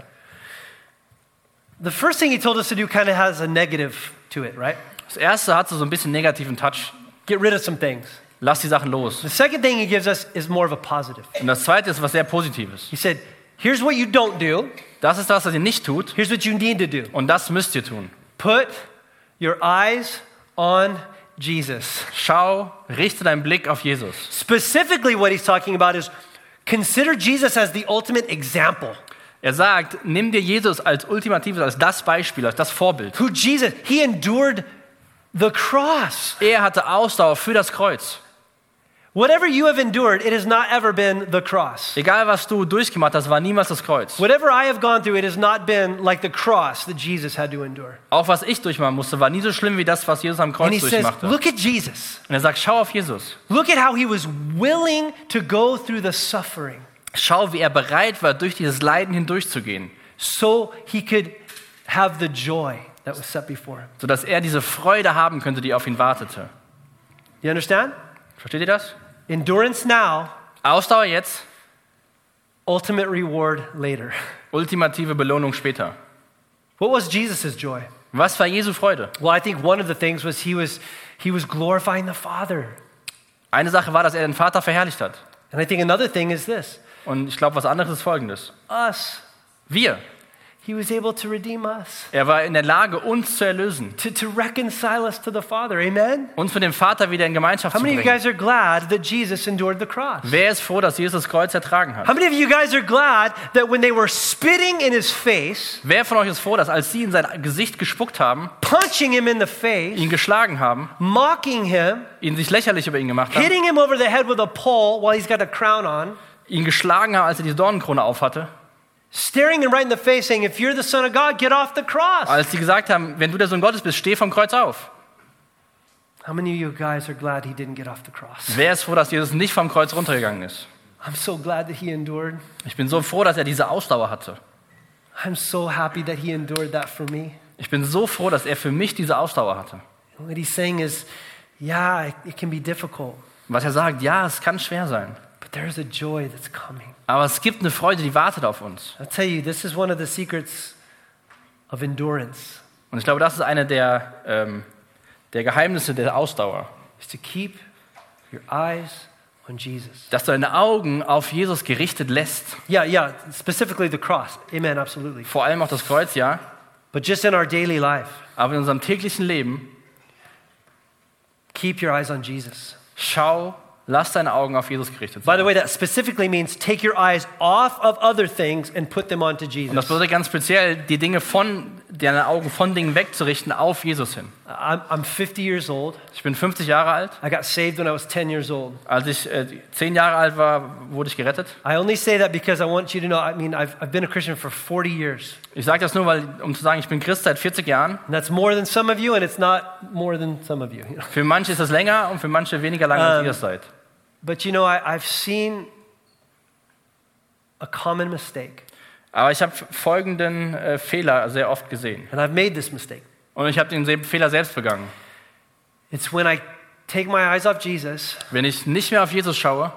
S1: The first thing he told us to do kind of has a negative to it, right?
S2: Das erste hat so ein bisschen negativen Touch.
S1: Get rid of some things.
S2: Lass die Sachen los.
S1: The second thing he gives us is more of a positive.
S2: Und das zweite ist was sehr Positives.
S1: He said, here's what you don't do.
S2: Das ist das, was ihr nicht tut.
S1: Here's what you need to do.
S2: Und das müsst ihr tun.
S1: Put your eyes on Jesus.
S2: Richte deinen Blick auf Jesus.
S1: Specifically what he's talking about is consider Jesus as the ultimate example.
S2: Er sagt, nimm dir Jesus als ultimatives, als das Beispiel, als das Vorbild.
S1: Who Jesus, he endured the cross.
S2: Er hatte Ausdauer für das Kreuz.
S1: Whatever you have endured, it has not ever been the cross.
S2: Egal, was du durchgemacht hast, war niemals das Kreuz.
S1: Whatever I have gone through, it has not been like the cross that Jesus had to endure.
S2: Auch was ich durchmachen musste, war nie so schlimm wie das, was Jesus am
S1: And
S2: Kreuz
S1: he says,
S2: durchmachte.
S1: look at Jesus.
S2: Und er sagt, schau auf Jesus.
S1: Look at how he was willing to go through the suffering
S2: Schau, wie er bereit war, durch dieses Leiden hindurchzugehen,
S1: so he could have the joy that was set before him.
S2: sodass er diese Freude haben könnte, die auf ihn wartete.
S1: You understand?
S2: Versteht ihr das?
S1: Endurance now,
S2: Ausdauer jetzt,
S1: ultimate reward later.
S2: ultimative Belohnung später.
S1: What was Jesus' joy?
S2: Was war Jesu Freude?
S1: Well, I think one of the things was he was glorifying the Father.
S2: Eine Sache war, dass er den Vater verherrlicht hat.
S1: And I think another thing is this.
S2: Und ich glaube, was anderes ist Folgendes.
S1: Us.
S2: Wir.
S1: He was able to redeem us,
S2: Er war in der Lage, uns zu erlösen,
S1: to reconcile us to the Father. Amen?
S2: uns mit dem Vater wieder in Gemeinschaft
S1: How
S2: zu
S1: many of you
S2: bringen.
S1: guys are glad that Jesus endured the cross?
S2: Wer ist froh, dass Jesus das Kreuz ertragen
S1: How
S2: hat?
S1: many of you guys are glad that when they were spitting in his face,
S2: Wer von euch ist froh, dass als sie in sein Gesicht gespuckt haben,
S1: punching him in the face,
S2: ihn geschlagen haben,
S1: mocking him,
S2: ihn sich lächerlich über ihn gemacht haben,
S1: hitting him over the head with a pole while he's got a crown on,
S2: ihn geschlagen haben, als er die Dornenkrone aufhatte,
S1: staring him right in the face saying, if you're the Son of God, get off the cross.
S2: als sie gesagt haben, wenn du der Sohn Gottes bist, steh vom Kreuz auf.
S1: How many of you guys are glad he didn't get off the cross?
S2: Wer ist froh, dass Jesus nicht vom Kreuz runtergegangen ist?
S1: I'm so glad that he endured.
S2: Ich bin so froh, dass er diese Ausdauer hatte.
S1: I'm so happy that he endured that for me.
S2: Ich bin so froh, dass er für mich diese Ausdauer hatte.
S1: And what he's saying is, yeah, it can be difficult,
S2: Was er sagt, ja, es kann schwer sein,
S1: but there's a joy that's coming.
S2: aber es gibt eine Freude, die wartet auf uns.
S1: I'll tell you, this is one of the secrets of endurance,
S2: Und ich glaube, das ist eine der Geheimnisse der Ausdauer,
S1: is to keep your eyes on Jesus.
S2: dass du deine Augen auf Jesus gerichtet lässt.
S1: Yeah, specifically the cross. Amen, absolutely.
S2: Vor allem auch das Kreuz, ja,
S1: But just in our daily life,
S2: aber in unserem täglichen Leben,
S1: keep your eyes on Jesus.
S2: lass deine Augen auf Jesus gerichtet
S1: By
S2: sein.
S1: the way, that specifically means take your eyes off of other things and put them onto
S2: Und das
S1: Jesus.
S2: bedeutet ganz speziell, deine Augen von Dingen wegzurichten auf Jesus hin.
S1: I'm 50 years old.
S2: Ich bin 50 Jahre alt.
S1: I got saved when I was 10 years old.
S2: Als ich 10 Jahre alt war, wurde ich gerettet.
S1: I only say that because I want you to know, I've been a Christian for 40 years.
S2: Ich sage das nur, um zu sagen, ich bin Christ seit 40 Jahren.
S1: And that's more than some of you, and it's not more than some of you.
S2: Für manche ist das länger und für manche weniger lang, als ihr es seid.
S1: But you know, I've seen a common mistake,
S2: Aber ich habe folgenden Fehler sehr oft gesehen.
S1: and I've made this mistake.
S2: Und ich habe den Fehler selbst begangen.
S1: It's when I take my eyes off Jesus
S2: Wenn ich nicht mehr auf Jesus schaue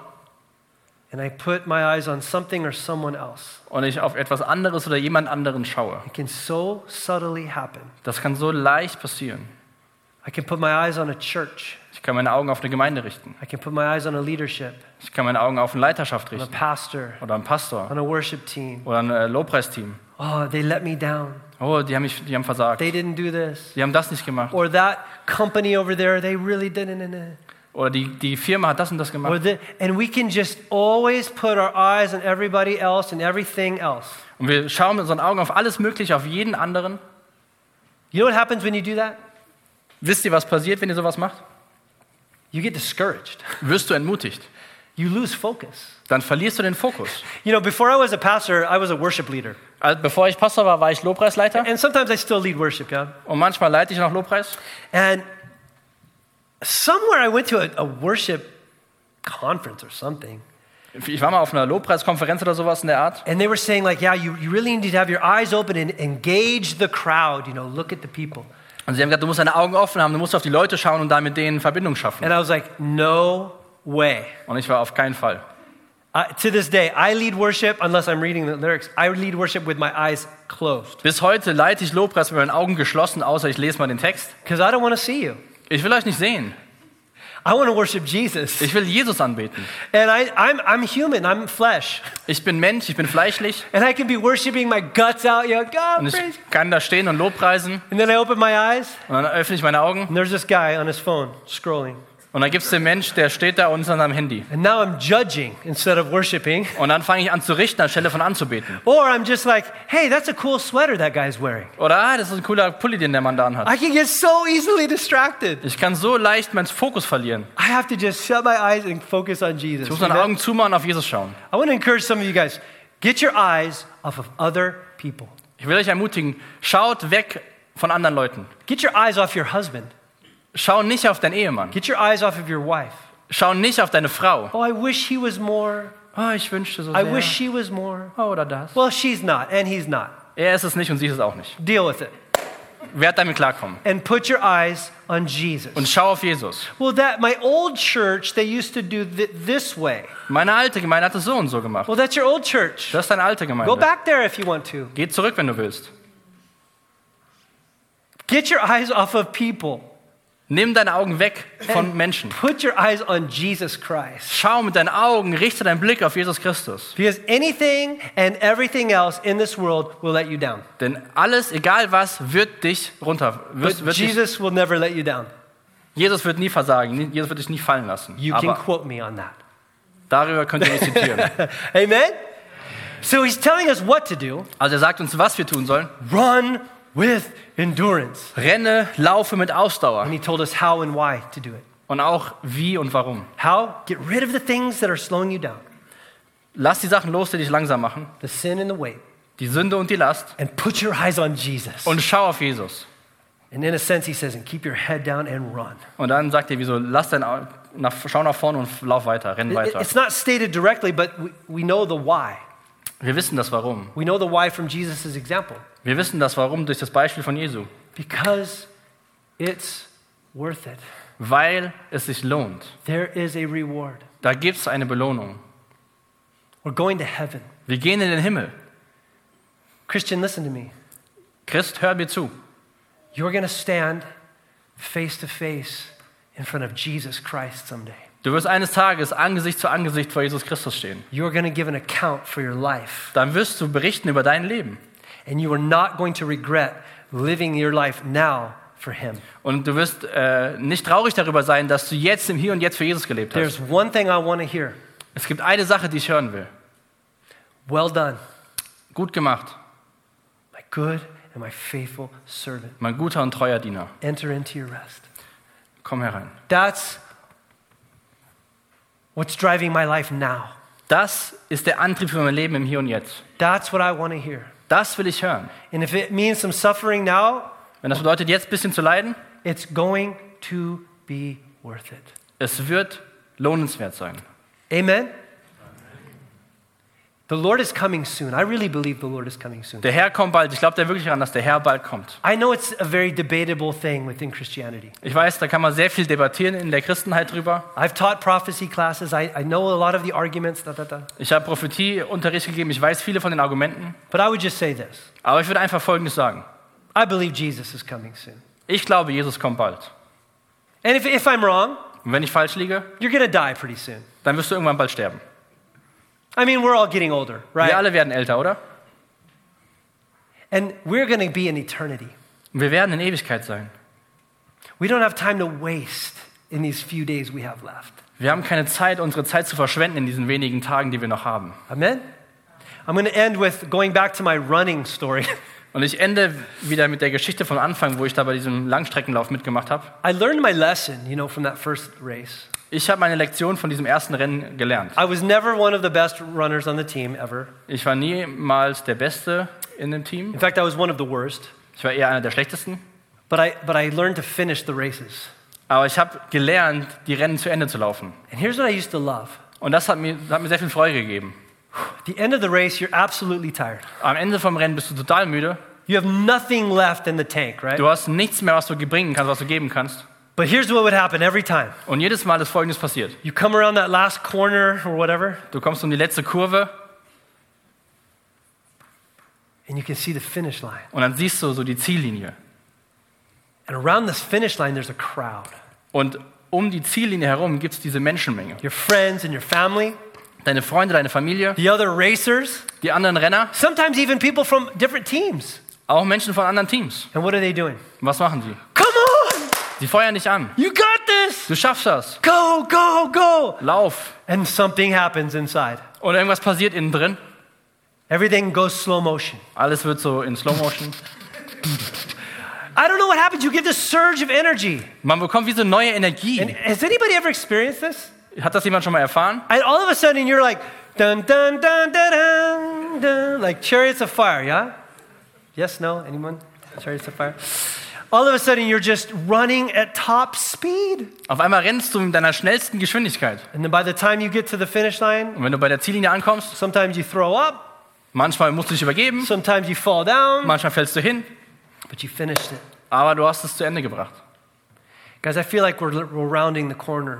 S1: and I put my eyes on something or someone else.
S2: und ich auf etwas anderes oder jemand anderen schaue,
S1: It can so subtly happen.
S2: das kann so leicht passieren.
S1: I can put my eyes on a church.
S2: Ich kann meine Augen auf eine Gemeinde richten.
S1: I can put my eyes on a leadership,
S2: Ich kann meine Augen auf eine Leiterschaft
S1: on a
S2: richten
S1: pastor,
S2: oder einen Pastor
S1: on a worship team.
S2: oder ein Lobpreisteam.
S1: Oh, they let me down.
S2: Oh, die haben versagt.
S1: They didn't do this.
S2: Die haben das nicht gemacht.
S1: Or that company over there, they really didn't.
S2: Oder die Firma hat das und das gemacht.
S1: And we can just always put our eyes on everybody else and everything else.
S2: Und wir schauen mit unseren Augen auf alles Mögliche, auf jeden anderen.
S1: You know what happens when you do that?
S2: Wisst ihr, was passiert, wenn ihr sowas macht?
S1: You get discouraged.
S2: Wirst du entmutigt.
S1: You lose focus.
S2: Dann verlierst du den Fokus.
S1: You know, before I was a pastor, I was a worship leader.
S2: Also bevor ich Pastor war, war ich Lobpreisleiter.
S1: And sometimes I still lead worship, yeah?
S2: Und manchmal leite ich noch Lobpreis.
S1: And somewhere I went to a worship conference or something.
S2: Ich war mal auf einer Lobpreiskonferenz oder sowas in der Art.
S1: And they were saying like, yeah, you really need to have your eyes open and engage the crowd, look at the people.
S2: Und sie haben gesagt, du musst deine Augen offen haben, du musst auf die Leute schauen und da mit denen Verbindung schaffen.
S1: And I was like, no way.
S2: Und ich war auf keinen Fall.
S1: To this day, I lead worship, unless I'm reading the lyrics, I lead worship with my eyes closed.
S2: Bis heute leite ich Lobpreis mit meinen Augen geschlossen, außer ich lese mal den Text.
S1: Because I don't want to see you.
S2: Ich will euch nicht sehen.
S1: I want to worship Jesus.
S2: Ich will Jesus anbeten.
S1: And I'm human, I'm flesh.
S2: Ich bin Mensch, ich bin fleischlich.
S1: And I can be worshiping my guts out, God,
S2: Und
S1: praise.
S2: ich kann da stehen und Lobpreisen.
S1: And then I open my eyes,
S2: Und dann öffne ich meine Augen.
S1: and there's this guy on his phone scrolling.
S2: Und dann gibt es den Mensch, der steht da und ist an seinem Handy.
S1: And now I'm judging instead of worshiping.
S2: Und dann fange ich an zu richten, anstelle von anzubeten.
S1: Or I'm just like, hey, that's a cool sweater that guy's wearing.
S2: Oder, das ist ein cooler Pulli, den der Mann da anhat.
S1: I can get so easily distracted.
S2: Ich kann so leicht meinen Fokus verlieren.
S1: I have to just shut my eyes and focus on Jesus.
S2: Ich muss meine Augen zumachen und auf Jesus schauen.
S1: I want to encourage some of you guys, get your eyes off of other people.
S2: Ich will euch ermutigen, schaut weg von anderen Leuten.
S1: Get your eyes off your husband.
S2: Schau nicht auf deinen Ehemann.
S1: Get your eyes off of your wife.
S2: Schau nicht auf deine Frau.
S1: Oh, I wish he was more.
S2: Oh, ich wünschte so
S1: I
S2: sehr.
S1: wish she was more.
S2: Oh, oder das.
S1: Well, she's not, and he's not.
S2: Er ist es nicht und sie ist es auch nicht.
S1: Deal with it.
S2: Werd damit klarkommen.
S1: And put your eyes on Jesus.
S2: Und schau auf Jesus.
S1: Well, my old church, they used to do this way.
S2: Meine alte Gemeinde hat es so und so gemacht.
S1: Well, that's your old church.
S2: Das ist deine alte
S1: Go
S2: Gemeinde.
S1: back there if you want to.
S2: Geh zurück, wenn du willst.
S1: Get your eyes off of people.
S2: Nimm deine Augen weg von Menschen.
S1: Put your eyes on Jesus Christ.
S2: Schau mit deinen Augen, richte deinen Blick auf Jesus Christus.
S1: Because anything and everything else in this world will let you down.
S2: Denn alles, egal was, wird dich
S1: But Jesus will never let you down.
S2: Jesus wird nie versagen, Jesus wird dich nie fallen lassen.
S1: You can
S2: Aber
S1: quote me on that.
S2: darüber könnt ihr mich zitieren.
S1: Amen? So he's telling us what to do.
S2: Also er sagt uns, was wir tun sollen.
S1: Run with endurance.
S2: Renne, laufe mit Ausdauer.
S1: And he told us how and why to do it.
S2: Und auch wie und warum.
S1: How? Get rid of the things that are slowing you down.
S2: Lass die Sachen los, die dich langsam machen.
S1: The sin and the weight.
S2: Die Sünde und die Last.
S1: And put your eyes on Jesus.
S2: Und schau auf Jesus.
S1: And in a sense he says, and keep your head down and run.
S2: Und dann sagt er, wieso, schau nach vorne und lauf weiter, renn weiter.
S1: It's not stated directly, but we know the why.
S2: Wir wissen das Warum.
S1: We know the why from Jesus' example.
S2: Wir wissen das Warum durch das Beispiel von Jesu.
S1: Because it's worth it.
S2: Weil es sich lohnt.
S1: There is a reward.
S2: Da gibt es eine Belohnung.
S1: We're going to heaven.
S2: Wir gehen in den Himmel.
S1: Christian, listen to me.
S2: Christ, hör mir zu.
S1: You're going to stand face to face in front of Jesus Christ someday.
S2: Du wirst eines Tages Angesicht zu Angesicht vor Jesus Christus stehen.
S1: You're going to give an account for your life.
S2: Dann wirst du berichten über dein Leben.
S1: And you are not going to regret living your life now for him.
S2: Und du wirst nicht traurig darüber sein, dass du jetzt im Hier und Jetzt für Jesus gelebt hast.
S1: There's one thing I want to hear.
S2: Es gibt eine Sache, die ich hören will.
S1: Well done,
S2: Gut gemacht,
S1: my good and my faithful servant.
S2: mein guter und treuer Diener.
S1: Enter into your rest.
S2: Komm herein.
S1: That's what's driving my life now.
S2: Das ist der Antrieb für mein Leben im Hier und Jetzt.
S1: That's what I want to hear.
S2: Das will ich hören.
S1: And if it means some suffering now,
S2: Wenn das bedeutet, jetzt ein bisschen zu leiden,
S1: it's going to be worth it.
S2: es wird lohnenswert sein.
S1: Amen? The Lord is coming soon. I really believe the Lord is coming soon.
S2: Der Herr kommt bald. Ich glaube da wirklich daran, dass der Herr bald kommt.
S1: I know it's a very debatable thing within Christianity.
S2: Ich weiß, da kann man sehr viel debattieren in der Christenheit drüber.
S1: I've taught prophecy classes. I know a lot of the arguments.
S2: Ich habe Prophetieunterricht gegeben. Ich weiß viele von den Argumenten.
S1: But I would just say this.
S2: Aber ich würde einfach Folgendes sagen.
S1: I believe Jesus is coming soon.
S2: Ich glaube, Jesus kommt bald.
S1: And if I'm wrong,
S2: Und wenn ich falsch liege,
S1: you're going to die pretty soon.
S2: dann wirst du irgendwann bald sterben.
S1: I mean, we're all getting older,
S2: Wir
S1: right?
S2: alle werden älter, oder?
S1: And we're going to be in eternity.
S2: Und wir werden in Ewigkeit sein.
S1: We don't have time to waste in these few days we have left.
S2: Wir haben keine Zeit, unsere Zeit zu verschwenden in diesen wenigen Tagen, die wir noch haben.
S1: Amen? I'm going to end with going back to my running story.
S2: Und ich ende wieder mit der Geschichte vom Anfang, wo ich da bei diesem Langstreckenlauf mitgemacht habe.
S1: I learned my lesson, from that first race.
S2: Ich habe meine Lektion von diesem ersten Rennen gelernt.
S1: I was never one of the best runners on the team ever.
S2: Ich war niemals der Beste in dem Team.
S1: In fact, I was one of the worst.
S2: Ich war eher einer der Schlechtesten.
S1: But I learned to finish the races.
S2: Aber ich habe gelernt, die Rennen zu Ende zu laufen.
S1: And here's what I used to love.
S2: Und das hat mir sehr viel Freude gegeben.
S1: At the end of the race, you're absolutely tired.
S2: Am Ende vom Rennen bist du total müde.
S1: You have nothing left in the tank, right?
S2: Du hast nichts mehr, was du bringen kannst, was du geben kannst.
S1: But here's what would happen every time.
S2: Und jedes Mal ist Folgendes passiert.
S1: You come around that last corner or whatever,
S2: Du kommst um die letzte Kurve
S1: and you can see the finish line.
S2: und dann siehst du so die Ziellinie.
S1: And around this finish line, there's a crowd.
S2: Und um die Ziellinie herum gibt es diese Menschenmenge.
S1: Your friends and your family,
S2: Deine Freunde, deine Familie,
S1: the other racers,
S2: die anderen Renner,
S1: sometimes even people from different teams.
S2: auch Menschen von anderen Teams.
S1: And what are they doing?
S2: Und was machen sie?
S1: Come on!
S2: Sie feuern dich an.
S1: You got this!
S2: Du schaffst das.
S1: Go, go, go!
S2: Lauf.
S1: And something happens inside.
S2: Und irgendwas passiert innen drin.
S1: Everything goes slow motion.
S2: Alles wird so in Slow Motion.
S1: I don't know what happens. You get this surge of energy.
S2: Man bekommt wie so neue Energie.
S1: And has anybody ever experienced this?
S2: Hat das jemand schon mal erfahren?
S1: And all of a sudden you're like, dun, dun, dun, dun, dun, dun, like Chariots of Fire, yeah? Yes, no, anyone? Chariots of Fire? All of a sudden you're just running at top speed.
S2: Auf einmal rennst du mit deiner schnellsten Geschwindigkeit.
S1: And then by the time you get to the finish line,
S2: Und wenn du bei der Ziellinie ankommst,
S1: sometimes you throw up,
S2: manchmal musst du dich übergeben,
S1: sometimes you fall down,
S2: manchmal fällst du hin,
S1: but you finished it.
S2: aber du hast es zu Ende gebracht.
S1: Guys, I feel like we're rounding the corner.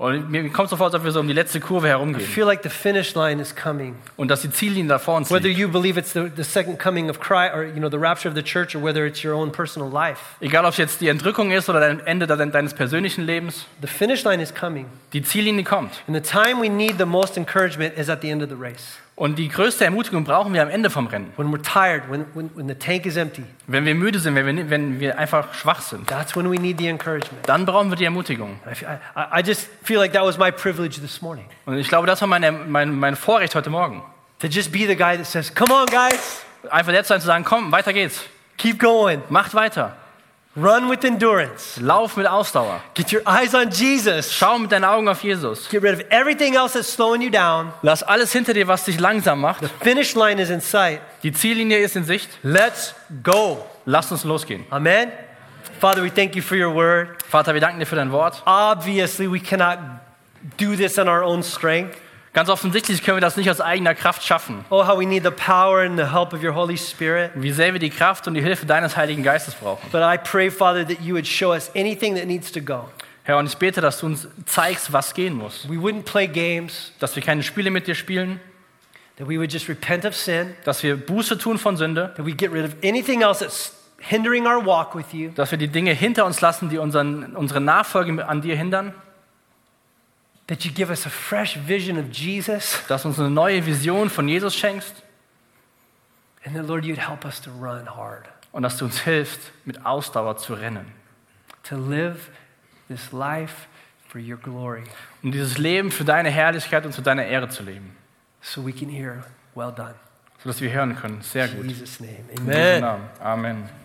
S2: Und mir kommt so vor, als ob wir so um die letzte Kurve
S1: I
S2: herumgehen.
S1: feel like the finish line is coming.
S2: Und dass die Ziellinie da vor uns
S1: Whether
S2: liegt.
S1: you believe it's the second coming of Christ or the rapture of the church or whether it's your own personal life.
S2: Egal, ob es jetzt die Entrückung ist oder dein Ende deines persönlichen Lebens,
S1: The finish line is coming.
S2: die Ziellinie kommt.
S1: And the time we need the most encouragement is at the end of the race.
S2: Und die größte Ermutigung brauchen wir am Ende vom Rennen.
S1: When we're tired, when the tank is empty,
S2: Wenn wir müde sind, wenn wir einfach schwach sind,
S1: that's when we need the encouragement.
S2: dann brauchen wir die Ermutigung.
S1: I just feel like that was my privilege this morning.
S2: Und ich glaube, das war mein Vorrecht heute Morgen.
S1: To just be the guy that says, come on guys,
S2: Einfach der zu sein, zu sagen, komm, weiter geht's.
S1: keep going.
S2: Macht weiter.
S1: Run with endurance.
S2: Lauf mit Ausdauer.
S1: Get your eyes on Jesus.
S2: Schau mit deinen Augen auf Jesus.
S1: Get rid of everything else that's slowing you down.
S2: Lass alles hinter dir, was dich langsam macht.
S1: Finish line is in sight.
S2: Die Ziellinie ist in Sicht.
S1: Let's go.
S2: Lass uns losgehen.
S1: Amen. Father, we thank you for your word.
S2: Vater, wir danken dir für dein Wort.
S1: Obviously, we cannot do this in our own strength.
S2: Ganz offensichtlich können wir das nicht aus eigener Kraft schaffen.
S1: Oh, how we need the power and the help of your Holy Spirit.
S2: Wie sehr wir die Kraft und die Hilfe deines Heiligen Geistes brauchen.
S1: But I pray, Father, that you would show us anything that needs to go.
S2: Herr, und ich bete, dass du uns zeigst, was gehen muss.
S1: We wouldn't play games,
S2: Dass wir keine Spiele mit dir spielen.
S1: that we would just repent of sin,
S2: Dass wir Buße tun von Sünde.
S1: that we get rid of anything else that's hindering our walk with you.
S2: Dass wir die Dinge hinter uns lassen, die unsere Nachfolge an dir hindern.
S1: That you give us a fresh vision of Jesus.
S2: Dass du uns eine neue Vision von Jesus schenkst.
S1: And that, Lord, you'd help us to run hard,
S2: Und dass du uns hilfst, mit Ausdauer zu rennen.
S1: to live this life for your glory,
S2: Um dieses Leben für deine Herrlichkeit und zu deiner Ehre zu leben.
S1: so we can hear, well done.
S2: Sodass wir hören können. Sehr
S1: In
S2: gut.
S1: Jesus' name,
S2: In Jesu
S1: amen.
S2: Namen. Amen.